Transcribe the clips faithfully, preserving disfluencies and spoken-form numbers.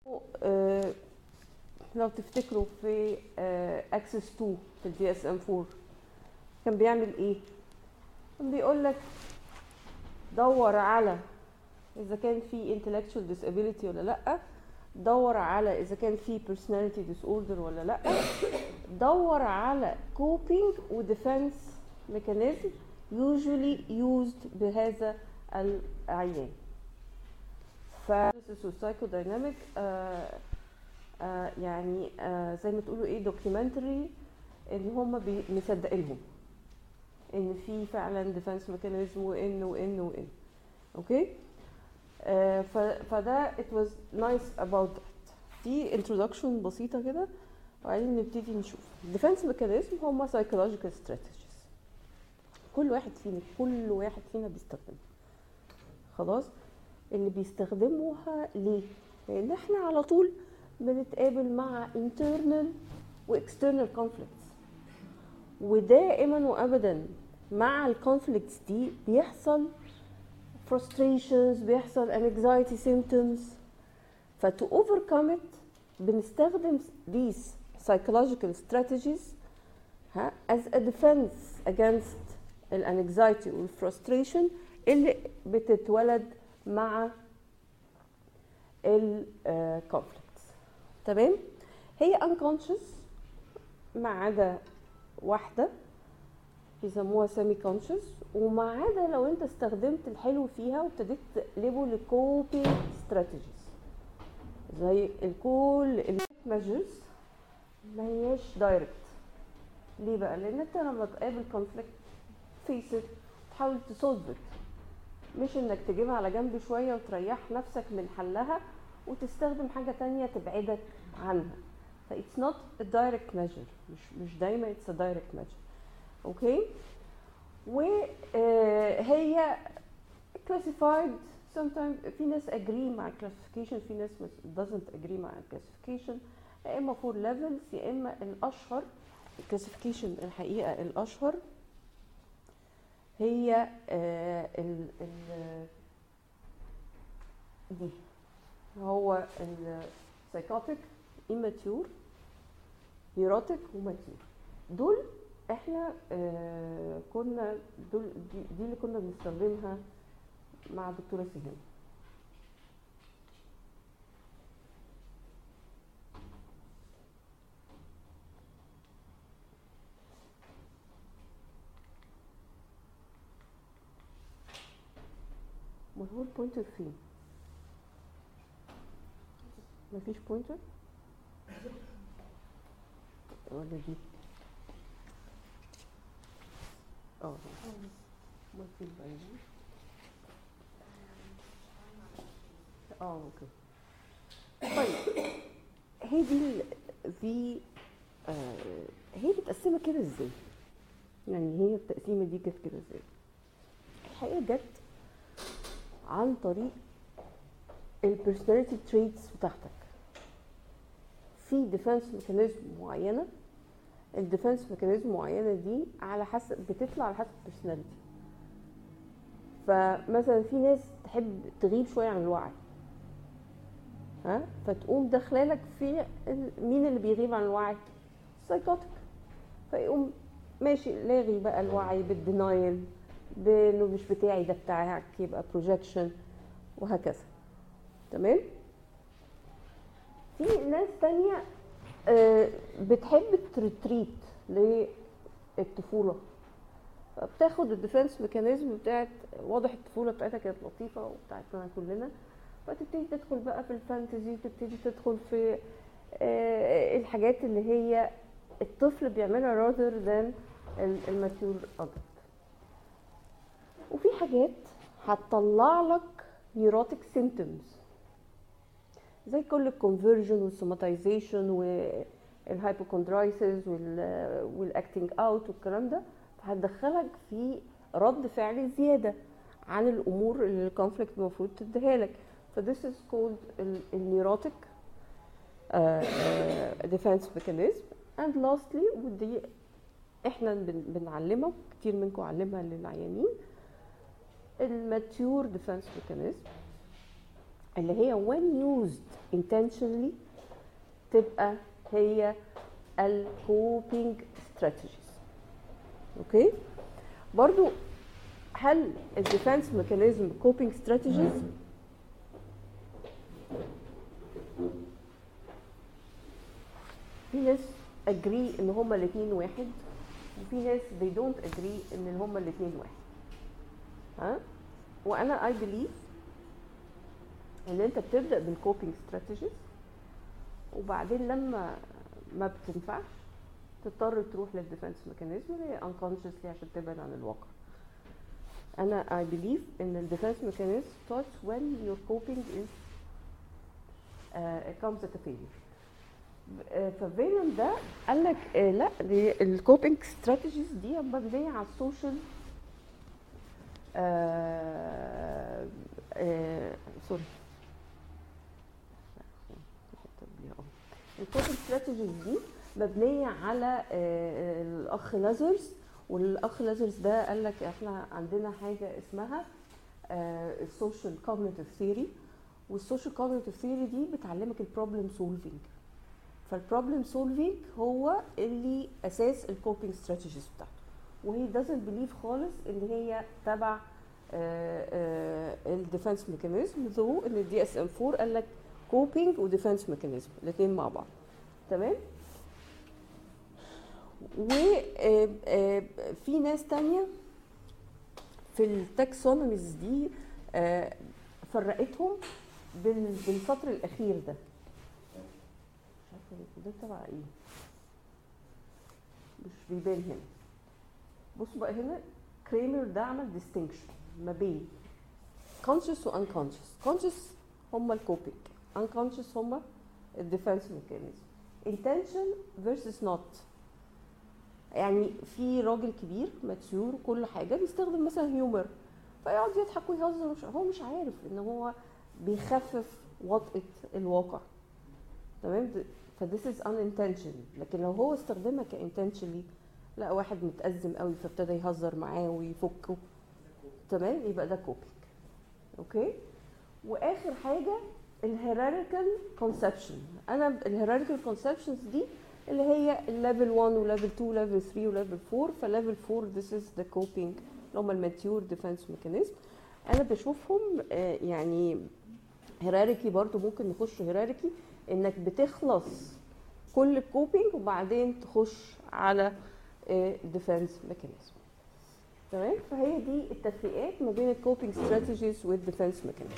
آه لو تفتكروا في اكسس تو في الدي اس ام فور كان بيعمل ايه؟ كان بيقول لك دور على اذا كان في intellectual disability ولا لا، دور على اذا كان في personality disorder ولا لا، دور على coping و defense mechanism usually used بهذا العيان. ف psychodynamic آه آه يعني آه زي ما تقولوا ايه documentary ان هم مصدقينهم ان في فعلا defense mechanism وان وان وان اوكي. آه فده it was nice about that. في introduction بسيطه كده وبعدين نبتدي نشوف defense mechanism هم psychological strategies كل واحد فينا كل واحد فينا بيستخدمها. خلاص اللي بيستخدموها ليه؟ لان احنا على طول بنتقابل مع internal و external conflicts، ودائما وابدا مع الكونفليكتس دي بيحصل frustrations، بيحصل anxiety symptoms. ف to overcome it بنستخدم these psychological strategies ها as a defense against الانكزايتي والفرستريشن اللي بتتولد مع الكونفليكتس. تمام؟ هي unconscious ما عدا واحده بيسموها سيمي كونشس، وما عدا لو انت استخدمت الحلو فيها وابتديت تقلبه لكوبينج ستراتيجيز زي الكول الميجرز ما هياش دايركت. ليه بقى؟ لان انت لما تقابل كونفليكت فيس ات تحاول تسولف ات، مش انك تجيبها على جنب شويه وتريح نفسك من حلها وتستخدم حاجه تانية تبعدك عنها. ف it's not a direct measure، مش مش دايما it's a direct measure. اوكي. وهي classified sometimes في ناس agree مع classification، في ناس doesn't agree مع classification. يا اما four levels يا اما الاشهر classification الحقيقه الاشهر هي ال ال دي هو ال psychotic immature neurotic وماتيور. دول احنا آه كنا دول دي, دي اللي كنا بنستخدمها مع دكتوره سهام. ما هو البوينتر فين؟ مفيش بوينتر ولا دي؟ اه ما في باين. اه اوكي. طيب هي دي دي آه هي متقسمه كده ازاي؟ يعني هي التقسيمه دي كانت كده ازاي؟ الحقيقه جت عن طريق البيرسوناليتي تريتس بتاعتك. في ديفنس ميكانيزم معينه، الديفنس ميكانيزم معينه دي على حسب بتطلع على حسب البيرسوناليتي. فمثلا في ناس تحب تغيب شويه عن الوعي، ها، فتقوم داخلالك في مين اللي بيغيب عن الوعي؟ سايكوتيك. فيقوم ماشي لاغي بقى الوعي بالدينايل، بانه مش بتاعي ده بتاعك، يبقى بروجكشن وهكذا. تمام؟ في ناس تانية بتحب التريتريت للطفوله، فبتاخد الديفنس ميكانيزم بتاعت واضح الطفوله بتاعتها كانت لطيفه وبتاعتنا كلنا، فتبتدي تدخل بقى في الفانتزي، وتبتدي تدخل في الحاجات اللي هي الطفل بيعملها rather than الماتيور adult. وفي حاجات هتطلع لك نيوروتيك سيمبتومز زي كل الكونفرجن والسوماتيزيشن والهايبوكوندرايسيس والاكتنج اوت والكلام ده، فهتدخلك في رد فعل زياده عن الامور اللي الكونفليكت المفروض تديها لك. ف this is called النيوروتيك defense mechanism. and lastly ودي احنا بنعلمها كتير منكم علمها للعيانين، الماتيور ديفنس ميكانيزم اللي هي when used intentionally تبقى هي ال coping strategies. اوكي برضو هل ال defense mechanism coping strategies؟ في ناس agree ان هما الاثنين واحد، وفي ناس they don't agree ان هما الاثنين واحد. ها وانا I believe ان انت بتبدا بالكوبينج استراتيجيز، وبعدين لما ما بتنفعش تضطر تروح للديفنس ميكانيزم اللي هي unconsciously عشان تبعد عن الواقع. انا I believe ان الديفنس ميكانيزم starts when your coping is uh, comes at a failure. ففينوم ده قال لك آه لا الكوبينج استراتيجيز دي مبنيه على السوشيال آه آه سوري الكوبينج استراتيجيز دي مبنيه على آه الاخ لازرز. والاخ لازرز ده قال لك احنا عندنا حاجه اسمها السوشيال كوجنيتيف ثيوري، والسوشيال كوجنيتيف ثيوري دي بتعلمك البروبلم سولفينج. فالبروبلم سولفينج هو اللي اساس الكوبينج استراتيجيز بتاعته، وهي doesn't believe خالص ان هي تبع الديفنس ميكانيزم، ذو ان الدي اس ام فور قال لك كوبينج وديفنس ميكانيزم الاثنين مع بعض. تمام. وفي ناس تانية في التاكسونوميز دي فرقتهم بالسطر الاخير ده. ده تبع ايه؟ مش بيبان هنا. بصوا بقى هنا كريمر ده عمل distinction ما بين conscious و unconscious. conscious هم الكوبينج، unconscious هم الديفنس ميكانيزم. intention versus not. يعني في راجل كبير ماتيور وكل حاجه بيستخدم مثلا هيومر فيقعد يضحك ويهزر، هو مش عارف ان هو بيخفف وطئة الواقع. تمام. فthis is unintentional. لكن لو هو استخدمها كintentionally، لا واحد متأزم قوي فابتدى يهزر معاه ويفكه، تمام، يبقى ده كوبينج. اوكي. واخر حاجه الهيراريكال كونسبشن. انا الهيراريكال كونسبشنز دي اللي هي الليفل واحد وليفل اتنين وليفل تلاتة وليفل اربعة. فليفل اربعة this is the coping اللي هم الماتيور ديفنس ميكانيزم. انا بشوفهم آه يعني هيراريكي، برضو ممكن نخش هيراريكي انك بتخلص كل الكوبينج وبعدين تخش على ديفنس ميكانيزم. تمام. فهي دي التفريقات ما بين الكوبينج ستراتيجيز والديفنس ميكانيزم.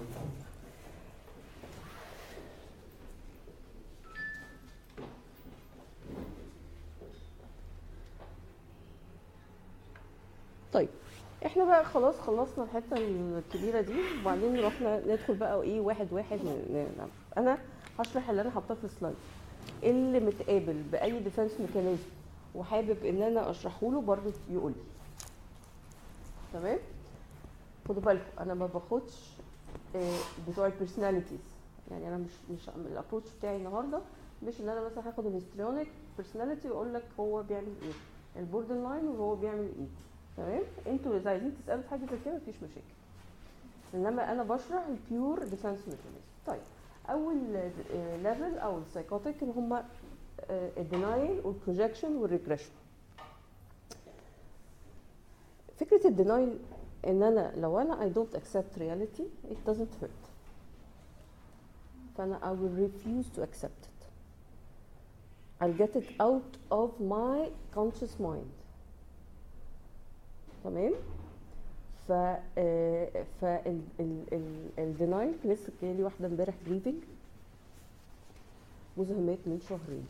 طيب احنا بقى خلاص خلصنا الحته الكبيره دي، وبعدين رحنا ندخل بقى ايه واحد واحد. انا هشرح اللي انا حاطاه في السلايد. اللي متقابل باي ديفنس ميكانيزم وحابب ان انا اشرحه له برضه يقول لي. تمام. خدوا بالكم انا ما باخدش بتوع البيرسوناليتيز، يعني انا مش مش الابروتش بتاعي النهارده مش ان انا مثلا هاخد الهيستريونيك بيرسوناليتي واقول لك هو بيعمل ايه، البوردر لاين وهو بيعمل ايه. تمام. انتوا اذا عايزين تسالوا في حاجه زي كده مفيش مشاكل، انما انا بشرح البيور ديفنس ميكانيزم. طيب اول ليفل او السايكوتيك اللي هم الدينايل والبروجكشن والريجريشن. فكره الدينايل ان انا لو انا I don't accept reality it doesn't hurt، فانا I will refuse to accept it. I'll get it out of my conscious mind. تمام. ف ف الدينايل لسه جايلي واحده امبارح بريفنج جوزها مات من شهرين.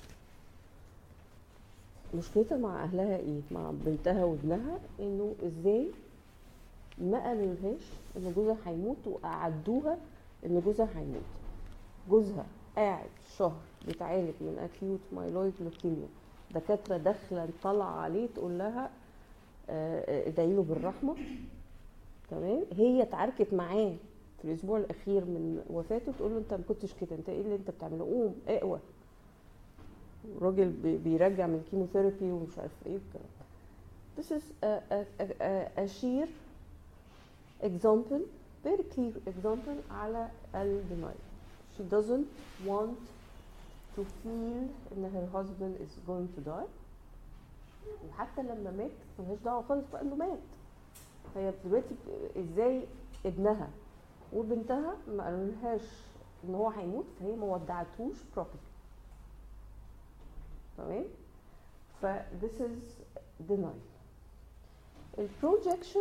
مشكلتها مع اهلها ايه؟ مع بنتها وابنها، انه ازاي ما قالولهاش ان جوزها هيموت وقعدوها ان جوزها هيموت. جوزها قاعد شهر بيتعالج من اكيوت مايلويد لوكيميا، دكاتره داخله طالعه عليه تقول لها ادعي له بالرحمه. تمام. هي اتعاركت معاه في الاسبوع الاخير من وفاته، تقول له انت ما كنتش كده، انت ايه اللي انت بتعمله، قوم اقوى. الراجل بيرجع من الكيموثيرابي ومش عارف ايه والكلام. This is a, a, a, a sheer example very clear example على ال denial. She doesn't want to feel ان her husband is going to die. وحتى لما مات ملهاش دعوه خالص بقى انه مات. هي دلوقتي ازاي ابنها وبنتها ما قالولهاش ان هو هيموت، فهي ما ودعتهوش properly. تمام؟ ف this is denial. البروجكشن،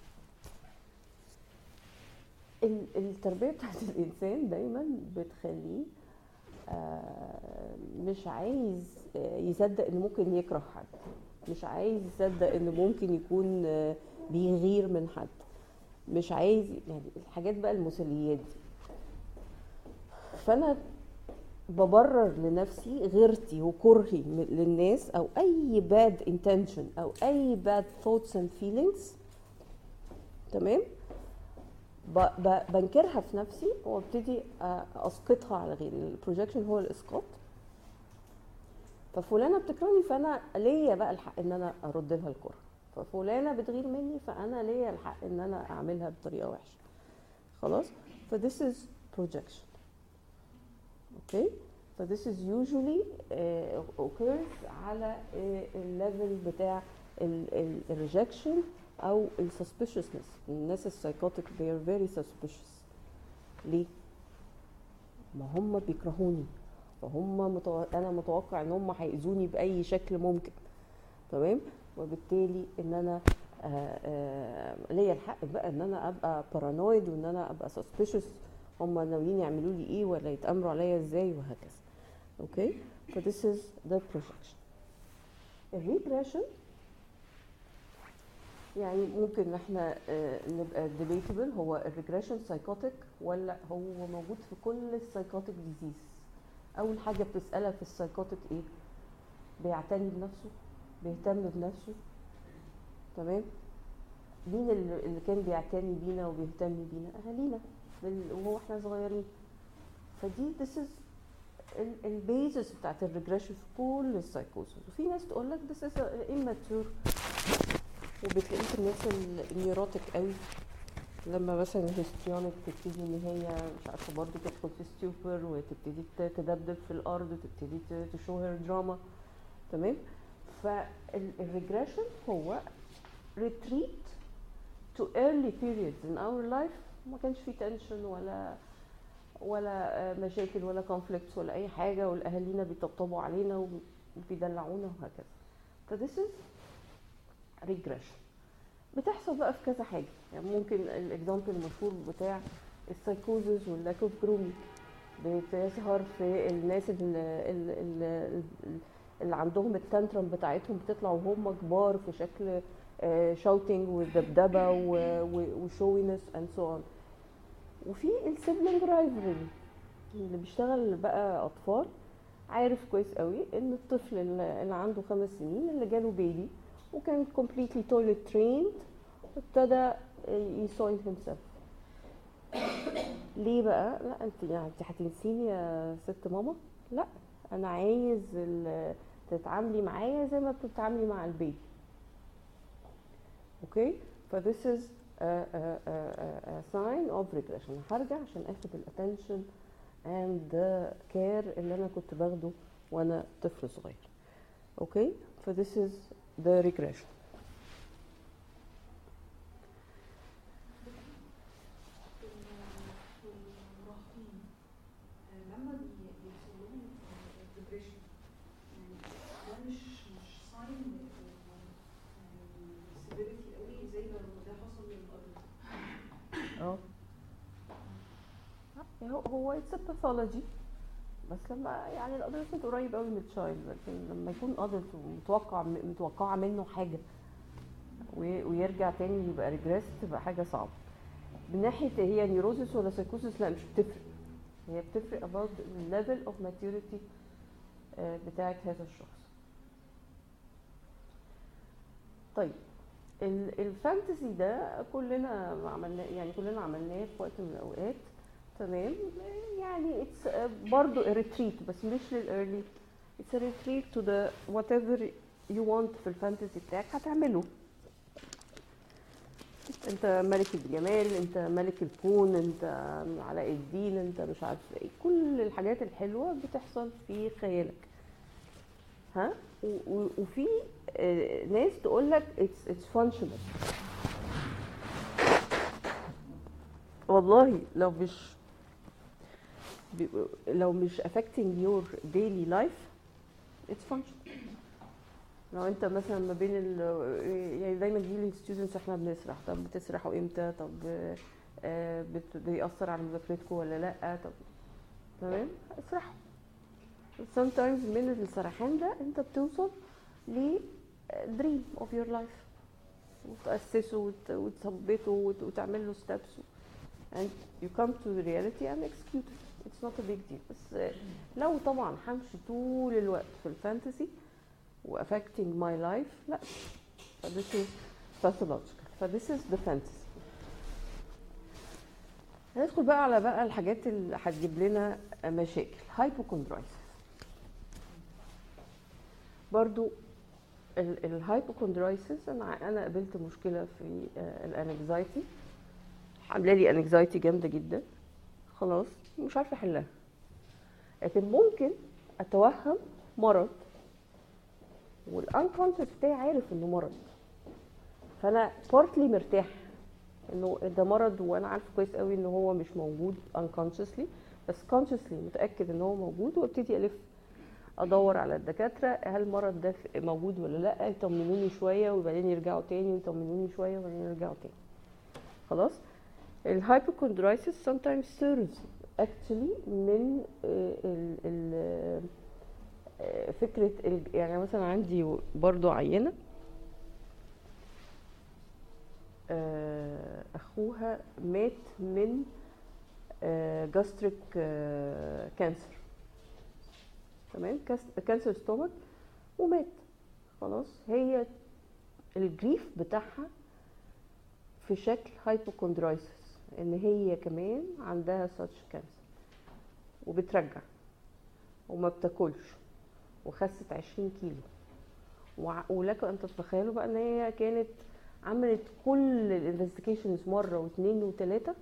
التربيه بتاعت الانسان دايما بتخليه آه مش عايز يصدق انه ممكن يكره حد، مش عايز يصدق انه ممكن يكون آه بيغير من حد، مش عايز يعني الحاجات بقى المثاليات دي. فانا ببرر لنفسي غيرتي وكرهي للناس او اي bad intention او اي bad thoughts and feelings. تمام؟ بنكرها في نفسي وابتدي اسقطها على غيري. البروجكشن هو الاسقاط. ففلانه بتكرهني فانا ليا بقى الحق ان انا ارد لها الكره، ففلانه بتغير مني فانا ليا الحق ان انا اعملها بطريقه وحشه. خلاص؟ ف this is projection. اوكي؟ ف this is usually uh, occurs على الليفل uh, بتاع الريجكشن او السسبيشسنس. الناس السايكوتيك they are very suspicious. ليه؟ ما هم بيكرهوني، فهم متو... انا متوقع ان هم هيأذوني باي شكل ممكن. تمام؟ وبالتالي ان انا آآ آآ ليا الحق بقى ان انا ابقى بارانويد وان انا ابقى suspicious. هم ناويين يعملوا لي ايه ولا يتامروا عليا ازاي وهكذا. اوكي؟ ف this is the projection. الريبريشن يعني ممكن احنا نبقى debatable هو الريجريشن سايكوتيك ولا هو موجود في كل السايكوتيك ديزيز. اول حاجه بتسالها في السايكوتيك ايه؟ بيعتني بنفسه؟ بيهتم بنفسه؟ تمام؟ مين اللي كان بيعتني بينا وبيهتم بينا؟ اهالينا وهو احنا صغيرين. فدي this is البيزس بتاعت الريجريشن في كل السايكوسز. وفي ناس تقول لك this is immature، وبتلاقيه في الناس النيوروتيك قوي لما مثلا الهستيونيك تبتدي ان هي مش عارفه برضه تدخل في ستيوبر وتبتدي تدبدب في الارض وتبتدي تشو هير دراما. تمام؟ فالريجريشن هو retreat to early periods in our life ما كانش فيه تنشن ولا ولا مشاكل ولا conflicts ولا اي حاجه، والاهالينا بيطبطبوا علينا وبيدلعونا وهكذا. ف this is regression. بتحصل بقى في كذا حاجه. يعني ممكن الاكزامبل المشهور بتاع السايكوزز واللاك اوف جرومينج بتظهر في الناس اللي, اللي, اللي عندهم التانترم بتاعتهم بتطلع وهم كبار في شكل شاوتنج ودبدبه وشوينس اند سو اون. وفي السيبلينج رايفلري اللي بيشتغل بقى اطفال عارف كويس قوي ان الطفل اللي عنده خمس سنين اللي جاله بيبي وكان completely toilet trained ابتدى يسوين himself. ليه بقى؟ لا انت يعني انت هتنسيني يا ست ماما؟ لا انا عايز تتعاملي معايا زي ما بتتعاملي مع البيبي. اوكي؟ ف this is a, a, a, a sign of regression. هرجع عشان اخد الاتنشن and the care اللي انا كنت باخده وانا طفل صغير. اوكي؟ ف this is the regression. اه هو اتس باثولوجي بس لما يعني الادolescent قريب قوي من التشايلد، لكن لما يكون ادلت ومتوقع متوقعه منه حاجه ويرجع تاني يبقى ريجريس تبقى حاجه صعبه. من ناحيه هي نيوروزيس ولا سايكوزيس لا مش بتفرق، هي بتفرق about the level of maturity بتاعت هذا الشخص. طيب الفانتسي ده كلنا عملناه، يعني كلنا عملناه في وقت من الاوقات. تمام؟ يعني اتس برضو ريتريت بس مش للايرلي، اتس ريتريت تو ذا وات ايفر يو وانت في الفانتسي بتاعك هتعمله. انت ملك الجمال، انت ملك الكون، انت علاء الدين، انت مش عارفه ايه. كل الحاجات الحلوه بتحصل في خيالك. ها و- و- وفي آه، ناس تقول لك اتس اتس فانكشنال. والله لو مش بي- لو مش affecting your daily life it's functional. لو انت مثلا ما بين ال يعني دايما دي للستودنتس احنا بنسرح، طب بتسرحوا امتى؟ طب آه، بت- بيأثر على مذاكرتكم ولا لا؟ طب تمام اسرحوا. sometimes من السرحان ده انت بتوصل ل dream of your life، وتأسسه وت- وتثبته وت- وتعمل له steps and you come to the reality and execute it. It's not a big deal. بس آه، لو طبعا همشي طول الوقت في الفانتسي و affecting my life لا، ف this is pathological. ف this is the fantasy. هندخل بقى على بقى الحاجات اللي هتجيب لنا مشاكل. hypochondritis برضو. الهايبوكوندرايسيس انا انا قابلت مشكله في الانكزايتي، عامله لي انكزايتي جامده جدا، خلاص مش عارفه احلها. لكن ممكن اتوهم مرض والانكونشس بتاعي عارف انه مرض، فانا بارتلي مرتاح انه ده مرض وانا عارفه كويس قوي ان هو مش موجود unconsciously، بس consciously متاكد ان هو موجود، وابتدي الف ادور على الدكاتره هل المرض ده موجود ولا لا، يطمنوني شويه وبعدين يرجعوا تاني، ويطمنوني شويه وبعدين يرجعوا تاني. خلاص. الهايبوكوندرايسيس sometimes serves actually من آه، ال ال آه، فكره ال- يعني مثلا عندي برضو عينه آه، اخوها مات من جاستريك كانسر، تمام، كانسر ستومك ومات. خلاص. هي الجريف بتاعها في شكل هايبوكوندرايسيس، ان هي كمان عندها ساتش كانسر وبترجع وما بتاكلش وخست عشرين كيلو. وع- ولكم ان تتخيلوا بقى ان هي كانت عملت كل الانفستيجيشنز مره واثنين وثلاثه،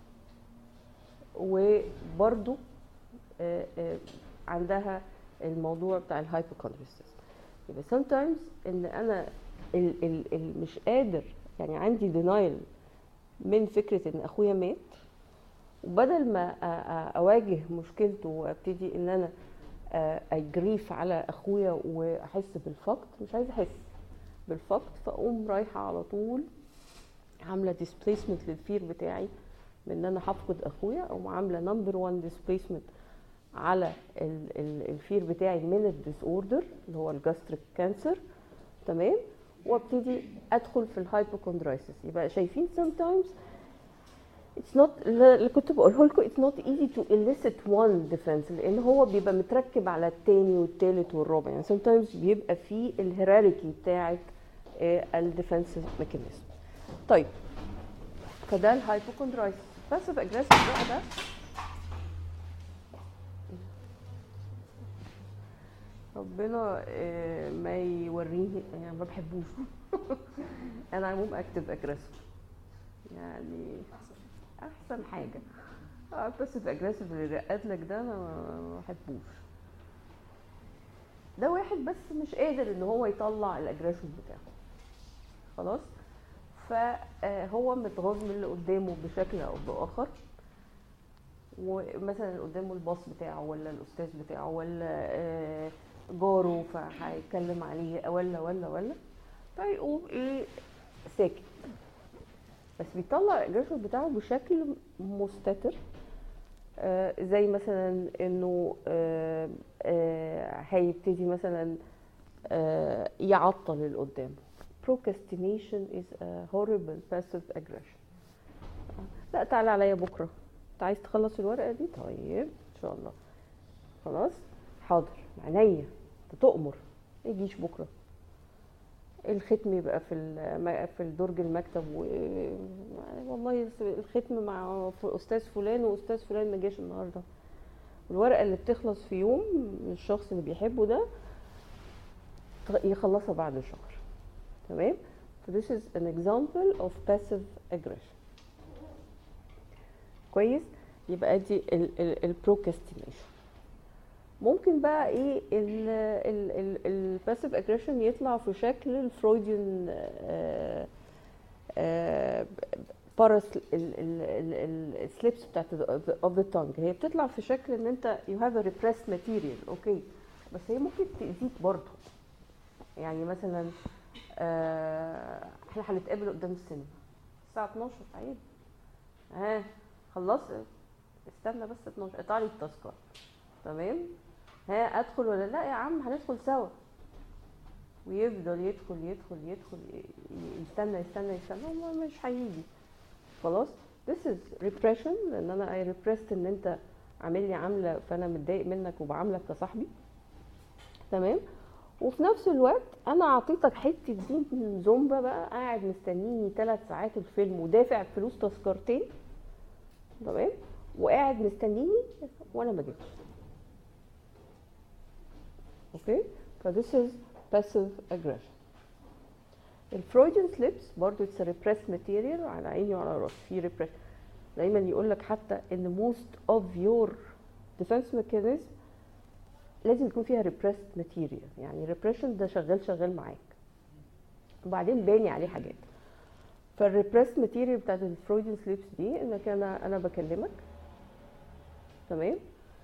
وبرضو آه، آه، عندها الموضوع بتاع الهايبوكوندريسيس. يبقى sometimes ان انا ال ال ال مش قادر، يعني عندي denial من فكره ان اخويا مات، وبدل ما أ- أ- اواجه مشكلته وابتدي ان انا آه، اجريف على اخويا واحس بالفقد، مش عايزه احس بالفقد، فاقوم رايحه على طول عامله ديسبليسمنت للفير بتاعي من ان انا هفقد اخويا، او عامله نمبر واحد ديسبليسمنت على ال- ال- الفير بتاعي من الديس اوردر اللي هو الجاستريك كانسر، تمام، وابتدي ادخل في الهايبوكوندرايسيس. يبقى شايفين sometimes it's not اللي كنت بقوله لكم it's not easy to elicit one defense، لان هو بيبقى متركب على التاني والتالت والرابع. يعني sometimes بيبقى في الهيراركي بتاعت الديفنس ميكانيزم. طيب فده الهايبوكوندرايسيس. باسيف اجريسيف بقى ده ربنا آه، ما يوريني، يعني ما بحبوش. انا عموم اكتب اجريسيف، يعني احسن حاجه. اه باسيف اجريسيف اللي رقد لك ده انا ما بحبوش. ده واحد بس مش قادر ان هو يطلع الاجريشن بتاعه، خلاص، فهو متغاظ من اللي قدامه بشكل او باخر، ومثلا اللي قدامه الباص بتاعه ولا الاستاذ بتاعه ولا آه، جاره، فهيتكلم عليه ولا ولا ولا فيقوم ايه ساكت، بس بيطلع الاجريشن بتاعه بشكل مستتر. آه زي مثلا انه آه آه هيبتدي مثلا آه يعطل اللي قدامه. procrastination is a horrible passive aggression. لا تعالى عليا بكره، انت عايز تخلص الورقه دي؟ طيب ان شاء الله، خلاص حاضر عينيا، انت تؤمر، ما يجيش بكره. الختم يبقى في الم- في درج المكتب، و... والله الختم مع استاذ فلان واستاذ فلان ما جاش النهارده. الورقه اللي بتخلص في يوم الشخص اللي بيحبه ده يخلصها بعد شهر، تمام. This is an example of passive aggression. كويس. يبقى دي البروكاستينيشن. ممكن بقى ايه الباسيف اجريشن يطلع في شكل الفرويديان بارس السليبس بتاعت اوف ذا تانج. هي بتطلع في شكل ان انت يو هاف ا ريبريس ماتيريال، اوكي، بس هي ممكن تاذيك برضه. يعني مثلا آه احنا هنتقابل قدام السينما الساعه اتناشر، عيب ها خلص، استنى بس اتناشر اقطع لي التذكره، تمام، ها ادخل ولا لا؟ يا عم هندخل سوا. ويفضل يدخل يدخل يدخل يستنى يستنى يستنى مش هيجي خلاص. this is repression، لان انا I repressed ان انت عامل لي عامله فانا متضايق منك وبعاملك كصاحبي، تمام. وفي نفس الوقت انا اعطيتك حته دين زومبا بقى، قاعد مستنيني ثلاث ساعات الفيلم ودافع فلوس تذكرتين، تمام، وقاعد مستنيني وانا ما جيتش، اوكي. ف this is passive aggression. الفرويديان سليبس برضو it's a repressed material، على عيني وعلى راسي في repressed. دايما يقول لك حتى ان most of your defense mechanism لازم يكون فيها repressed material، يعني repression ده شغال شغال معاك وبعدين باني عليه حاجات. فالrepressed material بتاعت الفرويديان سليبس دي انك انا انا بكلمك، تمام،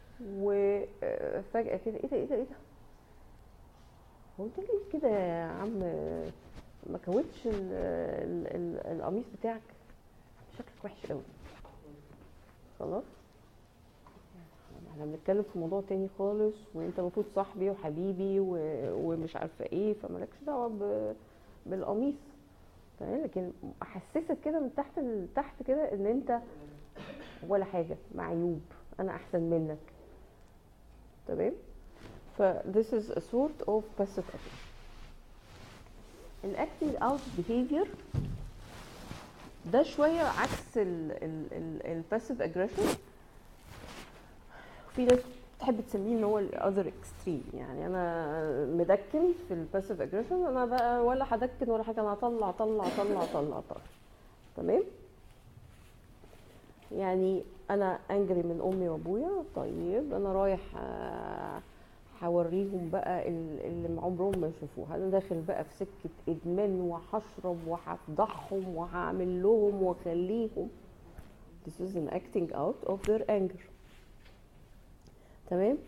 وفجأة كده ايه ده ايه ده ايه ده هو انت ليه كده يا عم ما كوتش القميص بتاعك، شكلك وحش قوي، خلاص احنا بنتكلم في موضوع تاني خالص، وانت المفروض صاحبي وحبيبي ومش عارفه ايه، فمالكش دعوه بالقميص، تمام. لكن احسسك كده من تحت لتحت كده ان انت ولا حاجه، معيوب، انا احسن منك، تمام. ف this is a sort of passive aggression. ال acting out behavior ده شويه عكس ال ال ال ال passive aggression. في ناس تحب تسميه ان هو ال other extreme، يعني انا مدكن في ال passive aggression، انا بقى ولا هدكن ولا حاجه، انا هطلع طلع طلع طلع طلع، تمام. يعني انا انجري من امي وابويا، طيب انا رايح هوريهم بقى اللي عمرهم ما يشوفوه، انا داخل بقى في سكه ادمان وهشرب وهفضحهم وهعمل لهم واخليهم. this is an acting out of their anger، تمام.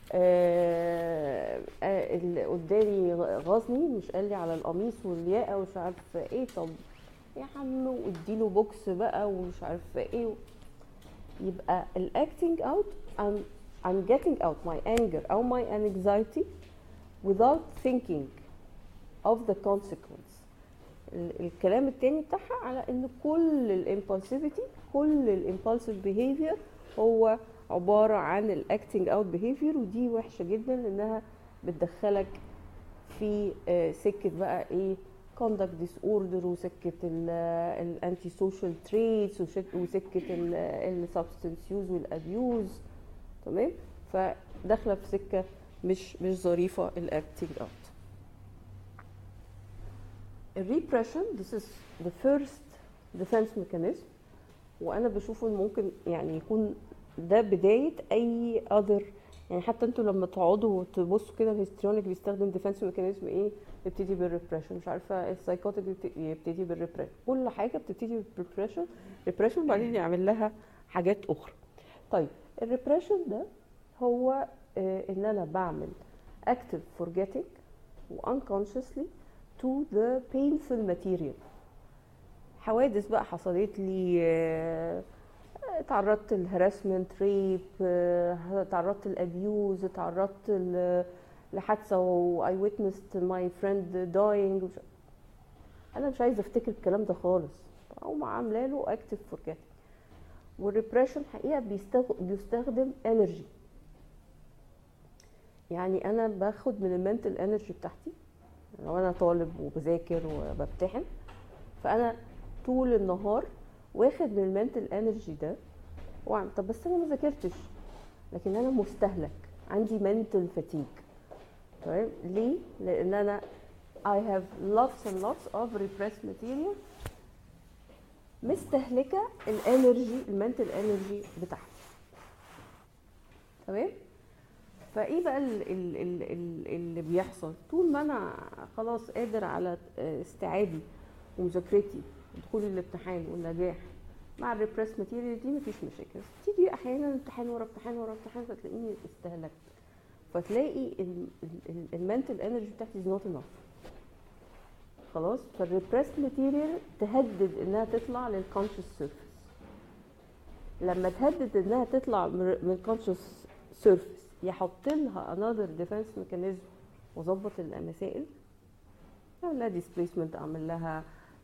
آه آه اللي قدامي غاظني، مش قال لي على القميص والياقه ومش عارفه ايه، طب يا عم واديله بوكس بقى ومش عارفه ايه. يبقى ال acting out I'm, I'm getting out my anger او my anxiety without thinking of the consequence. الكلام التاني بتاعها على ان كل ال impulsivity، كل ال impulsive behavior هو عبارة عن ال acting out behavior، ودي وحشة جدا لانها بتدخلك في سكة بقى ايه conduct disorder، وسكة ال anti social traits، وسكة ال substance use وال abuse، تمام. فداخلة في سكة مش مش ظريفة ال acting out. ال repression this is the first defense mechanism، وانا بشوفه ممكن يعني يكون ده بداية اي other، يعني حتى انتوا لما تقعدوا تبصوا كده الهيستريونيك بيستخدم ديفنس ميكانيزم ايه، يبتدي بالريبريشن، مش عارفه السايكوتيك يبتدي بالريبريشن، كل حاجه بتبتدي بالريبريشن ريبريشن وبعدين يعمل لها حاجات اخرى. طيب الريبريشن ده هو آه ان انا بعمل active forgetting و unconsciously to the painful material. حوادث بقى حصلت لي، آه تعرضت للهراسمنت، ريب، تعرضت للابيوز، تعرضت لحادثه واي ويتنست ماي فريند داينج، انا مش عايزه افتكر الكلام ده خالص، او عامله له اكتف فورجيت. والريبريشن حقيقه بيستخدم انرجي، يعني انا باخد من المنتل انرجي بتاعتي لو انا طالب وبذاكر وبمتحن، فانا طول النهار واخد من المنتل انرجي ده وعم طب بس انا ما ذاكرتش، لكن انا مستهلك، عندي منتل فاتيج، تمام. ليه؟ لان انا I have lots and lots of repressed material مستهلكه الانرجي المنتال انرجي بتاعتي. تمام؟ فايه بقى ال ال ال ال اللي بيحصل طول ما انا خلاص قادر على استيعابي ومذاكرتي ودخولي الامتحان والنجاح مع الريبريس ماتيريال دي مفيش مشاكل. تيجي احيانا امتحان ورا امتحان ورا امتحان فتلاقيني استهلكت، فتلاقي المنتال انرجي بتاعتي از نوت انف خلاص. فالريبريس ماتيريال تهدد انها تطلع للكونشس سيرفيس. لما تهدد انها تطلع من الكونشس سيرفيس يحط لها another defense mechanism وظبط المسائل، اعمل لها displacement، اعمل لها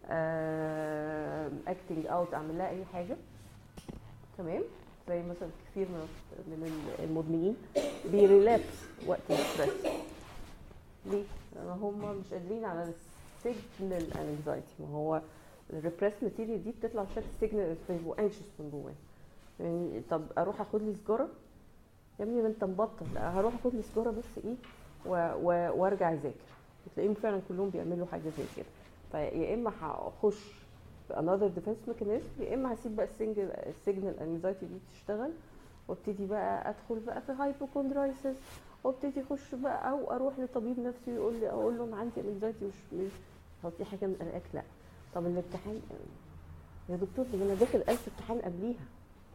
uh, acting out، اعمل لها اي حاجه. تمام؟ زي مثلا كثير من من المدمنين بيريلابس وقت الستريس. ليه؟ لان هم مش قادرين على السيجنال انكزايتي. ما هو الريبريس ماتيريال دي بتطلع بشكل سيجنال وانكشس من جواه. يعني طب اروح اخد لي سيجاره يا ابني ما انت مبطل، هروح اخد لي سيجاره بس ايه وارجع اذاكر. بتلاقيهم فعلا كلهم بيعملوا حاجه زي كده. فيا اما هخش في another defense mechanism، يا اما هسيب بقى السنجل السيجنال انكزايتي دي تشتغل وابتدي بقى ادخل بقى في هايبوكوندرايسيس وابتدي اخش بقى او اروح لطبيب نفسي يقول لي اقول له انا عندي انكزايتي مش مش هو حاجه من قلقك. لا طب الامتحان يا دكتور ده انا داخل ألف امتحان قبليها،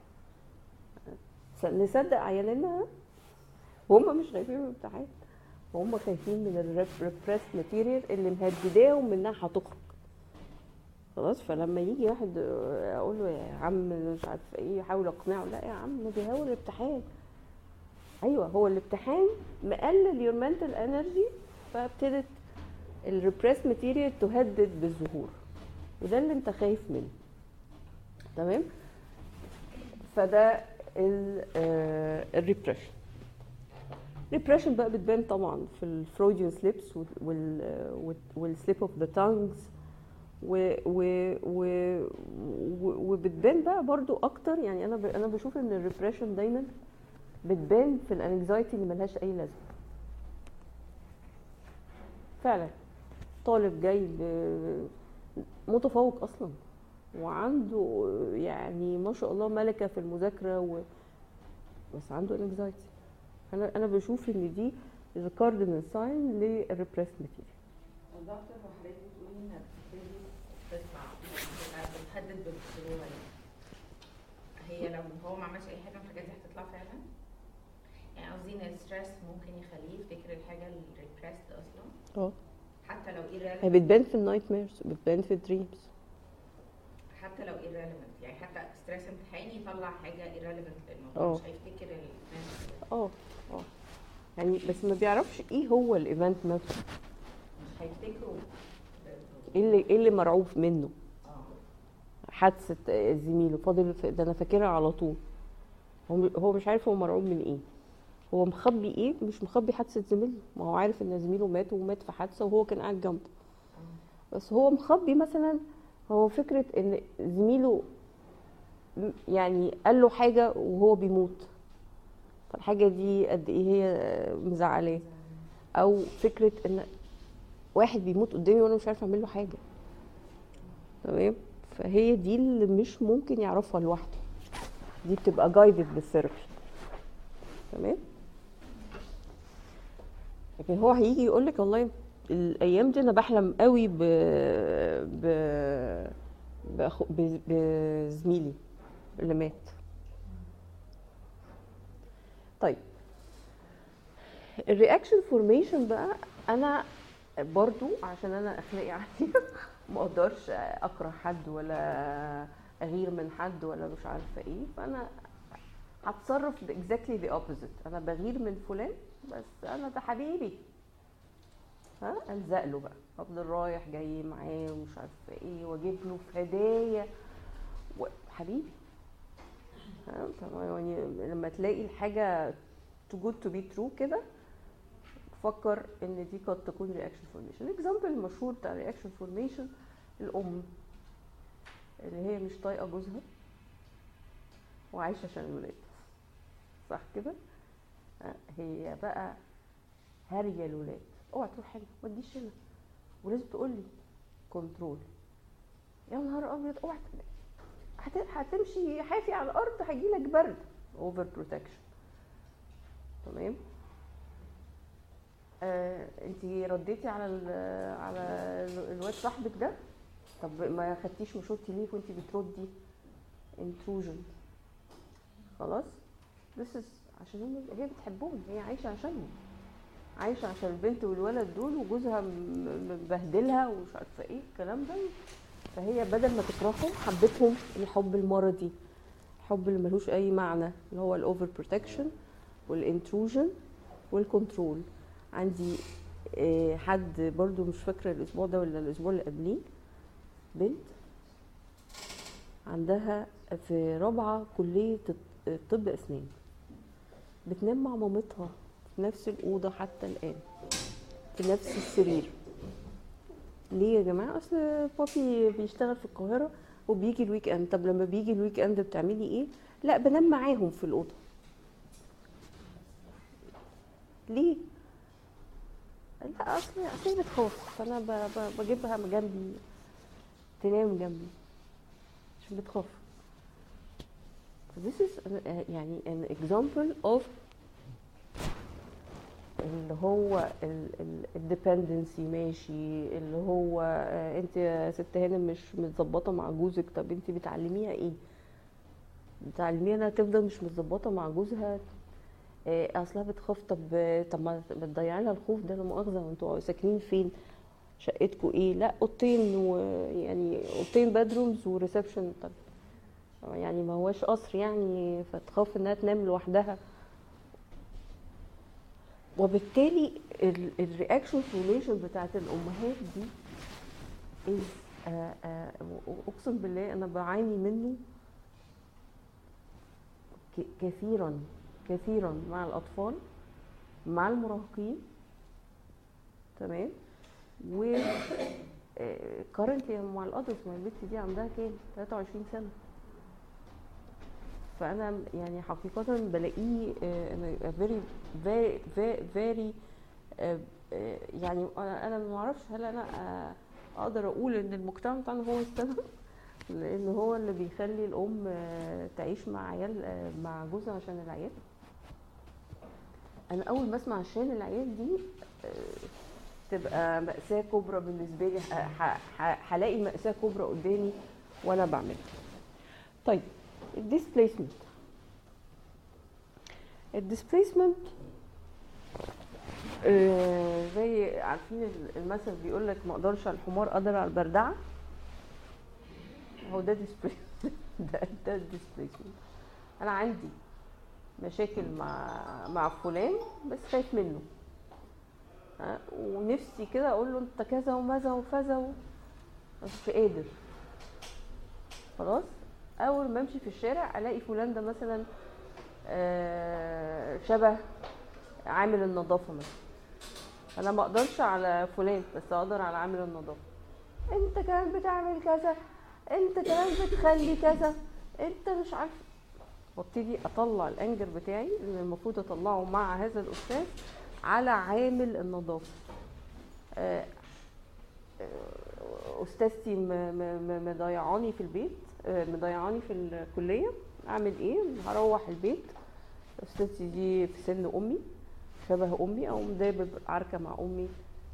نصدق عيالنا وهم مش خايفين من الامتحان، وهم خايفين من الريبريس ماتيريال اللي مهدداهم انها هتخرج خلاص. فلما يجي واحد اقول له يا عم مش عارف ايه يحاول اقنعه، لا يا عم ده بيهول الامتحان. ايوه هو الامتحان مقلل يور منتال انرجي، فابتدت الريبريس ماتيريال تهدد بالظهور، وده اللي انت خايف منه. تمام؟ فده الريبريشن. الريبريشن بقى بتبان طبعا في الفرويديان سليبس والسليب اوف ذا تانجز، وبتبان بقى برضو اكتر. يعني انا انا بشوف ان الريبريشن دايما بتبان في الانكزايتي اللي ملهاش اي لازمه. فعلا طالب جاي متفوق اصلا وعنده يعني ما شاء الله ملكه في المذاكره و... بس عنده انكزايتي. انا انا بشوف ان دي ذا كاردينال ساين للريبريس ماتيريال. الدكتور وحضرتك بتقولي انها بتبتدي تطلع بتحدد بالسهوله، هي لو هو ما عملش اي حاجه من الحاجات دي هتطلع فعلا؟ يعني قصدي ان الستريس ممكن يخليه يفتكر الحاجه الريبريسد اصلا اه حتى لو irrelevant. هي بتبان في النايت ميرز، بتبان في الدريمز حتى لو irrelevant، يعني حتى ستريس امتحاني يطلع حاجه irrelevant لانه أوه. مش هيفتكر الايفنت. اه اه يعني بس ما بيعرفش ايه هو الايفنت نفسه، مش هيفتكروا ايه اللي ايه اللي مرعوب منه. اه حادثه زميله فاضل ده انا فاكرها على طول، هو هو مش عارف هو مرعوب من ايه، هو مخبي ايه، مش مخبي حادثه زميله. ما هو عارف ان زميله مات ومات في حادثه وهو كان قاعد جنبه، بس هو مخبي مثلا هو فكره ان زميله يعني قال له حاجه وهو بيموت، فالحاجه دي قد ايه هي مزعلاه، او فكره ان واحد بيموت قدامي وانا مش عارفه اعمل له حاجه. تمام؟ فهي دي اللي مش ممكن يعرفها لوحده، دي بتبقى جايدد بالثيرابي. تمام؟ لكن هو هيجي يقول لك والله الايام دي انا بحلم قوي ب ب بأخو... بزميلي اللي مات. طيب الرياكشن فورميشن بقى، انا برضو عشان انا اخلاقي عندي ما اقدرش اكره حد ولا اغير من حد ولا مش عارفه ايه، فانا هتصرف اكزاكتلي ذا اوبوزيت. انا بغير من فلان بس انا ده حبيبي، ها الزق له بقى، افضل رايح جاي معاه ومش عارفه ايه واجيب له في هدايا حبيبي. ها يعني لما تلاقي الحاجه too good to be true كده فكر ان دي قد تكون رياكشن فورميشن. الاكزامبل المشهور بتاع رياكشن فورميشن الام اللي هي مش طايقه جوزها وعايشه عشان الولاد، صح كده؟ هي بقى هاريه الولاد، اوعى تروح هنا ما تجيش هنا، ولازم تقول لي كنترول. يا نهار ابيض، اوعى هت- هتمشي حافي على الارض هيجيلك برد. اوفر بروتكشن. تمام. آه، انتي رديتي على ال على ال- الواد صاحبك ده، طب ما خدتيش مشورتي ليه وانتي بتردي؟ intrusion. خلاص. this is عشان هم هي بتحبهم، هي عايشه عشانهم، عايشه عشان البنت والولد دول، وجوزها م- مبهدلها ومش عارفه ايه الكلام ده. فهي بدل ما تكرههم حبتهم الحب المرضي، الحب اللي ملوش اي معنى، اللي هو الاوفر بروتكشن والانتروجن والكنترول. عندي آه، حد برضو مش فاكره الاسبوع ده ولا الاسبوع اللي قبليه، بنت عندها في رابعه كليه الط- طب اسنان، بتنام مع مامتها في نفس الاوضه حتى الان، في نفس السرير. ليه يا جماعه؟ اصل بابي بيشتغل في القاهره وبيجي الويك اند. طب لما بيجي الويك اند بتعملي ايه؟ لا بنام معاهم في الاوضه. ليه؟ لا اصل اصل هي بتخاف، فانا ب- ب- بجيبها جنبي تنام جنبي عشان بتخاف. So this is an- uh, يعني an example of اللي هو الديبندنسي ماشي، اللي هو آه، انت يا ست هانم مش متظبطه مع جوزك، طب انت بتعلميها ايه؟ بتعلميها انها تفضل مش متظبطه مع جوزها؟ آه، اصلها بتخاف. طب طب ما بتضيعي لها الخوف ده، لا مؤاخذه، وانتوا ساكنين فين؟ شقتكم ايه؟ لا اوضتين، ويعني اوضتين بدرومز وريسبشن. طب يعني ما هواش قصر يعني، فتخاف انها تنام لوحدها. وبالتالي الرياكشن فورميشن بتاعت الامهات دي is آه، آه، اقسم بالله انا بعاني منه ك- كثيرا كثيرا مع الاطفال، مع المراهقين. تمام. و كارنتلي مع الادلت. ما البنت دي عندها كام؟ ثلاثة وعشرين سنه. فانا يعني حقيقه بلاقيه آه، very very very very آه، آه، يعني انا أنا ما اعرفش هل انا آه، اقدر اقول ان المجتمع بتاعنا هو السبب، لان هو اللي بيخلي الام آه، تعيش مع عيال آه، مع جوزها عشان العيال. انا اول ما اسمع عشان العيال دي آه، تبقى مأساة كبرى بالنسبه لي، ه- ه- هلاقي مأساة كبرى قدامي وانا بعملها. طيب الديسبليسمنت. الديسبليسمنت آه، زي عارفين المثل بيقول لك ما اقدرش على الحمار قدر على البردعه. هو ده displacement. ده ده displacement. انا عندي مشاكل مع مع فلان بس خايف منه، ها، ونفسي كده اقول له انت كذا وماذا وفذا و- بس مش قادر. خلاص. اول ما امشي في الشارع الاقي فلان ده مثلا آه، شبه عامل النظافه مثلا، انا ما اقدرش على فلان بس اقدر على عامل النظافه. انت كمان بتعمل كذا، انت كمان بتخلي كذا، انت مش عارف. وابتدي اطلع الانجر بتاعي اللي المفروض اطلعه مع هذا الاستاذ على عامل النظافه. آه، آه، استاذتي م- م- م- مضيعاني في البيت، آه، مضيعاني في الكليه، اعمل ايه؟ هروح البيت استاذتي دي في سن امي، شبه امي، او مدابب عركه مع امي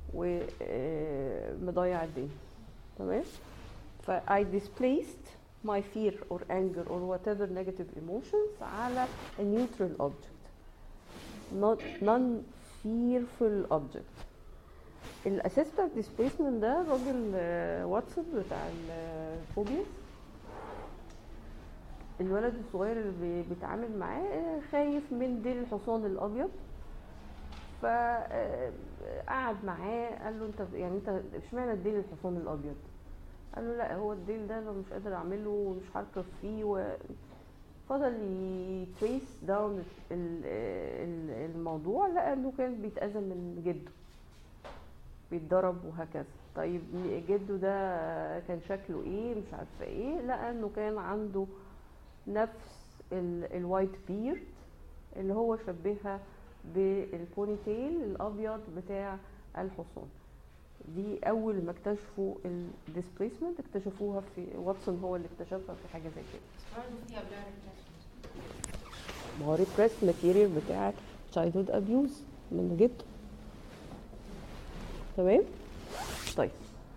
ومضيع الدنيا. تمام. ف I displaced my fear or anger or whatever negative emotions على a neutral object, not non-fearful object. الأساس بتاع displacement ده راجل آه، واتساب بتاع الفوبياس. الولد الصغير اللي بي- بيتعامل معاه آه، خايف من ديل الحصان الأبيض، فقعد معاه قال له انت يعني انت اشمعنى الديل الحصان الأبيض؟ قال له لا هو الديل ده انا مش قادر اعمله ومش هركب فيه. وفضل يتريس داون الموضوع، لقى انه كان بيتأذى من جده، بيتضرب وهكذا. طيب جده ده كان شكله ايه؟ مش عارفه ايه. لقى انه كان عنده نفس الوايت بيرد اللي هو شبهها بالبوني تيل الابيض بتاع الحصان. دي اول ما اكتشفوا الديسبيسمنت اكتشفوها في واتسون، هو اللي اكتشفها في حاجه زي كده. برضه فيها بلاد ريبريشن. ما هو ريبريس ماتيريال بتاعت childhood abuse من جده. تمام. طيب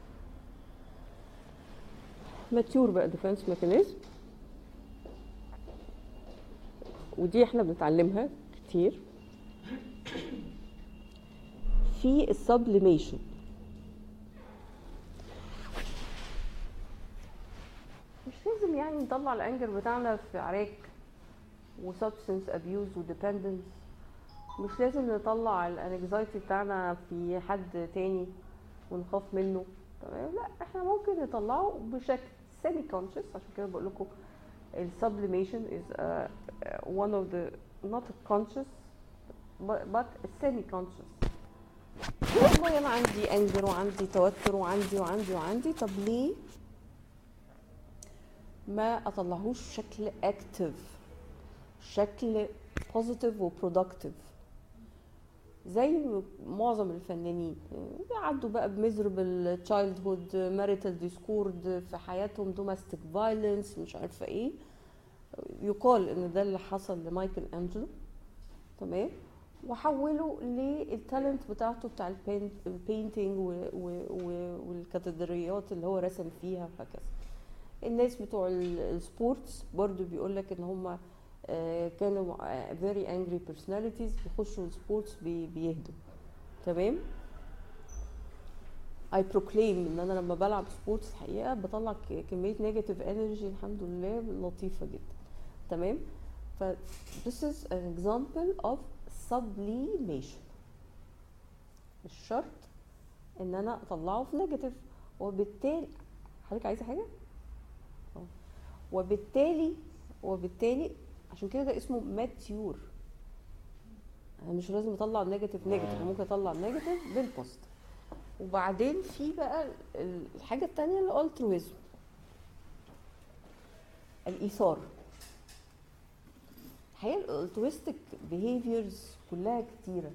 ماتيور بقى ديفنس ميكانيزم، ودي احنا بنتعلمها كتير في السبليميشن. مش لازم يعني نطلع الانجر بتاعنا في عراك وسبستنس ابيوز وديبندنس، مش لازم نطلع الانكزايتي بتاعنا في حد تاني ونخاف منه. تمام. لا، احنا ممكن نطلعه بشكل سيمي كونشس. عشان كده بقول لكم السبليميشن is uh, one of the not conscious but, but semi conscious. والله انا عندي انجر وعندي توتر وعندي وعندي وعندي طب ليه ما اطلعهوش بشكل اكتف، شكل بوزيتيف وبرودكتيف زي معظم الفنانين بيعدوا بقى بميزربل تشايلد هود، ماريتال ديسكورد في حياتهم، دوماستيك فايلنس، مش عارفه ايه. يقال ان ده اللي حصل لمايكل انجلو. تمام. وحوله للتالنت بتاعته بتاع البينتينج والكاتدرائيات اللي هو رسم فيها وهكذا. الناس بتوع السبورتس برضو بيقولك ان هم كانوا very angry personalities، بيخشوا السبورتس بيهدوا. تمام. I proclaim ان انا لما بلعب سبورتس حقيقة بطلع كمية negative energy الحمد لله لطيفة جدا. تمام. ف this is an example of sublimation. مش شرط ان انا اطلعه في نيجاتيف، وبالتالي حضرتك عايزة حاجة؟ اه. وبالتالي وبالتالي عشان كده ده اسمه ماتيور. انا مش لازم اطلع النيجاتيف نيجاتيف، ممكن اطلع النيجاتيف بالبوزيتيف. وبعدين في بقى الحاجه الثانيه الالترويزم، الايثار. الحقيقه الالترويستيك بيهيفيرز كلها كتيره،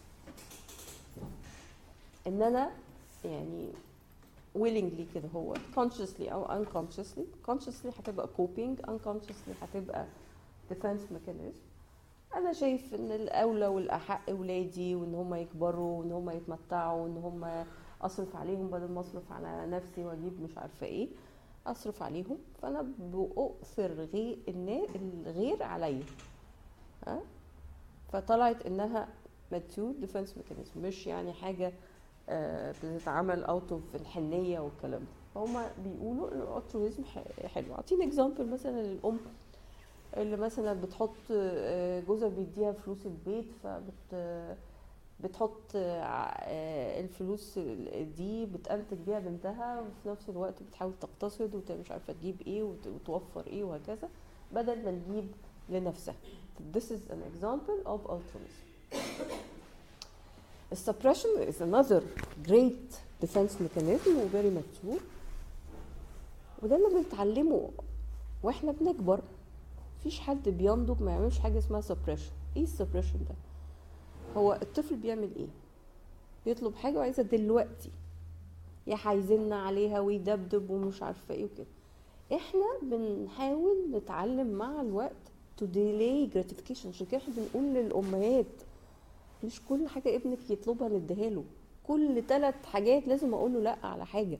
ان انا يعني willingly كده هو consciously او unconsciously. consciously هتبقى coping، unconsciously هتبقى defense mechanism. انا شايف ان الاولى والاحق ولادي، وان هم يكبروا وان هم يتمتعوا وان هم اصرف عليهم بدل ما اصرف على نفسي واجيب مش عارفه ايه، اصرف عليهم. فانا بأؤثر غير الغير عليا. ها. فطلعت انها mature defense mechanism، مش يعني حاجه بتتعمل اوت اوف الحنيه والكلام ده. فهم بيقولوا ان الالترويزم حلو. اعطيني اكزامبل مثلا للام اللي مثلا بتحط جوزها بيديها فلوس البيت، فبت بتحط الفلوس دي بتنتج بيها بنتها، وفي نفس الوقت بتحاول تقتصد ومش عارفه تجيب ايه وتوفر ايه وهكذا بدل ما تجيب لنفسها. This is an example of altruism. Suppression is another great defense mechanism و very mature، وده اللي بنتعلمه واحنا بنكبر. مفيش حد بينضج ما يعملش حاجه اسمها suppression. ايه السبريشن ده؟ هو الطفل بيعمل ايه؟ بيطلب حاجه وعايزها دلوقتي، يا هيزن عليها ويدبدب ومش عارفه ايه وكده. احنا بنحاول نتعلم مع الوقت to delay gratification. عشان كده احنا بنقول للامهات مش كل حاجه ابنك يطلبها نديها له، كل ثلاث حاجات لازم اقول له لا على حاجه.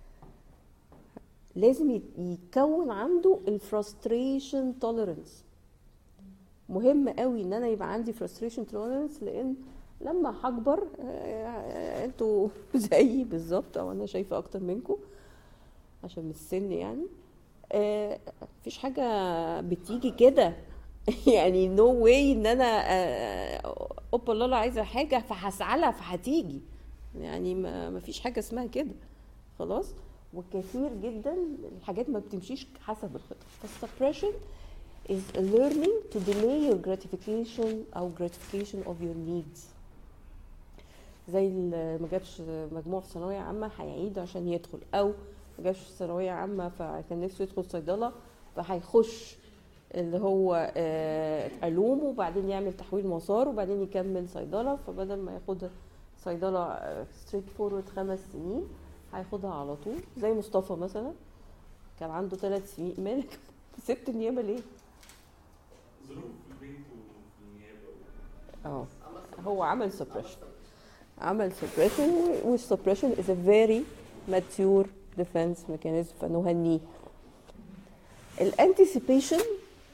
لازم يتكون عنده الفرستريشن توليرنس. مهم قوي ان انا يبقى عندي فرستريشن توليرنس، لان لما هكبر انتوا زيي بالظبط او انا شايفه اكتر منكم عشان من السن يعني. آه مفيش حاجه بتيجي كده يعني نو no واي ان انا اوبا لالا عايزه حاجه فهسعى لها فهتيجي. يعني ما فيش حاجه اسمها كده خلاص. وكثير جدا الحاجات ما بتمشيش حسب الخطه. فالسبريشن is learning to delay your gratification او gratification of your needs. زي اللي ما جابش مجموع في ثانويه عامه هيعيد عشان يدخل، او ما جابش ثانويه عامه فكان نفسه يدخل صيدله فهيخش اللي هو علوم وبعدين يعمل تحويل مسار وبعدين يكمل صيدله، فبدل ما ياخد صيدله ستريت فورورد خمس سنين هياخدها على طول، زي مصطفى مثلا كان عنده ثلاث سنين. مالك سبت النيابه ليه؟ ظروف البيت وفي النيابه اه هو عمل سبريشن، عمل سبريشن، والسبريشن is a very mature defense mechanism، فنهنيه. الانتيسيبيشن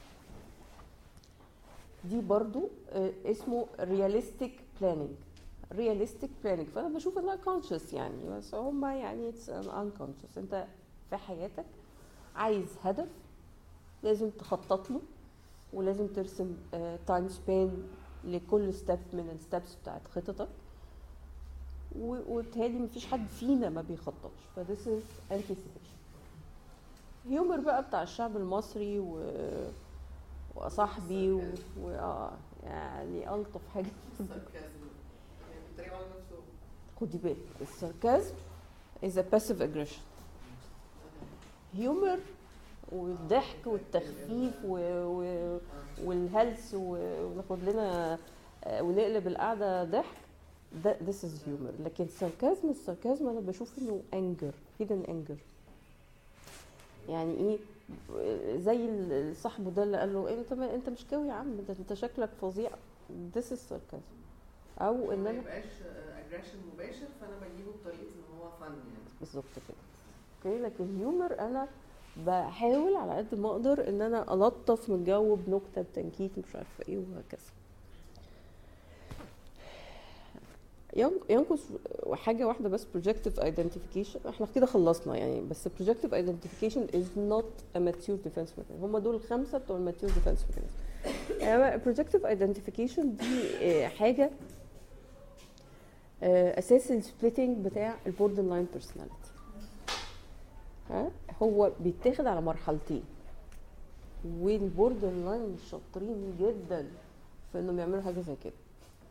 دي برضو اسمه realistic planning. realistic planning فانا بشوف انها conscious يعني، بس هم يعني it's an unconscious. انت في حياتك عايز هدف لازم تخطط له، ولازم ترسم تايم سبان لكل ستيب من الستبس بتاعت خطتك، وبالتالي مفيش حد فينا ما بيخططش. ف this is anticipation. هيومر بقى بتاع الشعب المصري و... وصاحبي و... و... آه يعني ألطف حاجة الساركازم يعني بيتريقوا على نفسه. خدي بالك الساركازم is a passive aggression. هيومر والضحك والتخفيف و... و... والهلس وناخد لنا ونقلب القعدة ضحك، ده this is humor. لكن الساركازم الساركازم أنا بشوف إنه anger hidden anger. يعني ايه؟ زي صاحبه ده اللي قال له انت ما انت مش قوي يا عم، ده انت شكلك فظيع. this is sarcasm. او ان ما انا يبقاش اجريشن مباشر، فانا بجيبه بطريقه ان هو فن يعني. بالظبط كده. اوكي، لكن هيومر انا بحاول على قد ما اقدر ان انا الطف من الجو بنكته بتنكيت مش عارفه ايه وهكذا. ينقص حاجه واحده بس، projective identification. احنا كده خلصنا يعني، بس projective identification is not a mature defense mechanism. هم دول الخمسه بتوع الماتيور defense mechanism. يعني projective identification دي حاجه اساس السبليتنج بتاع البوردر لاين بيرسوناليتي. ها هو بيتاخد على مرحلتين، والبوردر لاين شاطرين جدا في انهم يعملوا حاجه زي كده.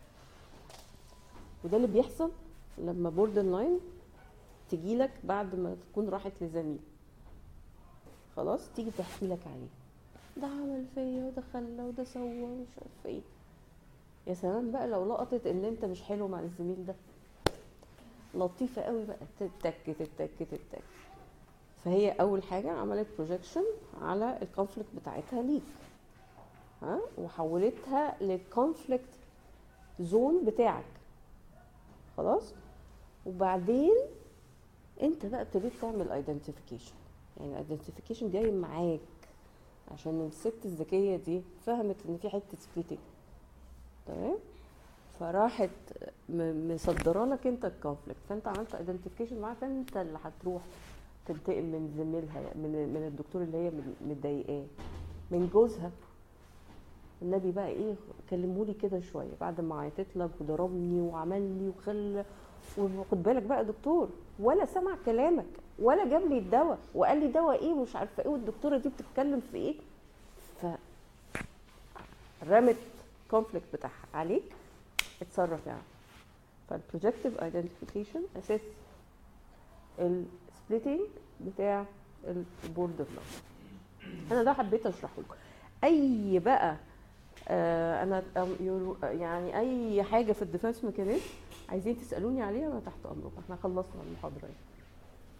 وده اللي بيحصل لما بوردر لاين تجيلك بعد ما تكون راحت لزميل، خلاص تيجي تحكي لك عليه، ده عمل فيا وده خلى وده سوى ومش عارف ايه. يا سلام بقى لو لقطت ان انت مش حلو مع الزميل ده، لطيفه قوي بقى، تتك تتك تتك. فهي اول حاجه عملت بروجكشن على الكونفليكت بتاعتها ليك، ها، وحولتها للكونفليكت زون بتاعك، خلاص. وبعدين انت بقى ابتديت تعمل ايدنتيفيكيشن. يعني ايدنتيفيكيشن جاي معاك عشان الست الذكيه دي فهمت ان في حته سبليتنج، تمام، فراحت مصدره لك انت الكونفليكت، فانت عملت ايدنتيفيكيشن معاك، انت اللي هتروح تنتقم من زميلها، من من الدكتور اللي هي متضايقاه، من جوزها. النبي بقى ايه، كلمولي كده شويه بعد ما عيطت لك وضربني وعملني وخلى، وخد بالك بقى دكتور ولا سمع كلامك ولا جاب لي الدواء وقال لي دواء ايه ومش عارفه ايه، والدكتوره دي بتتكلم في ايه. ف رمت كونفليكت بتاعها عليك، اتصرف يعني. فالبروجكتيف ايدنتيفيكيشن اساس السبليتنج بتاع البوردر لاين. انا ده حبيت اشرحه لكم. اي بقى آه انا يعني اي حاجه في الديفنس ميكانيزم عايزين تسالوني عليها انا تحت امركم. احنا خلصنا المحاضره.